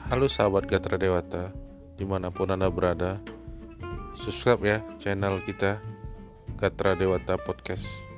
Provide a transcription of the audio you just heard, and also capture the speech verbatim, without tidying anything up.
Halo sahabat Gatra Dewata, dimanapun Anda berada, subscribe ya channel kita Gatra Dewata Podcast.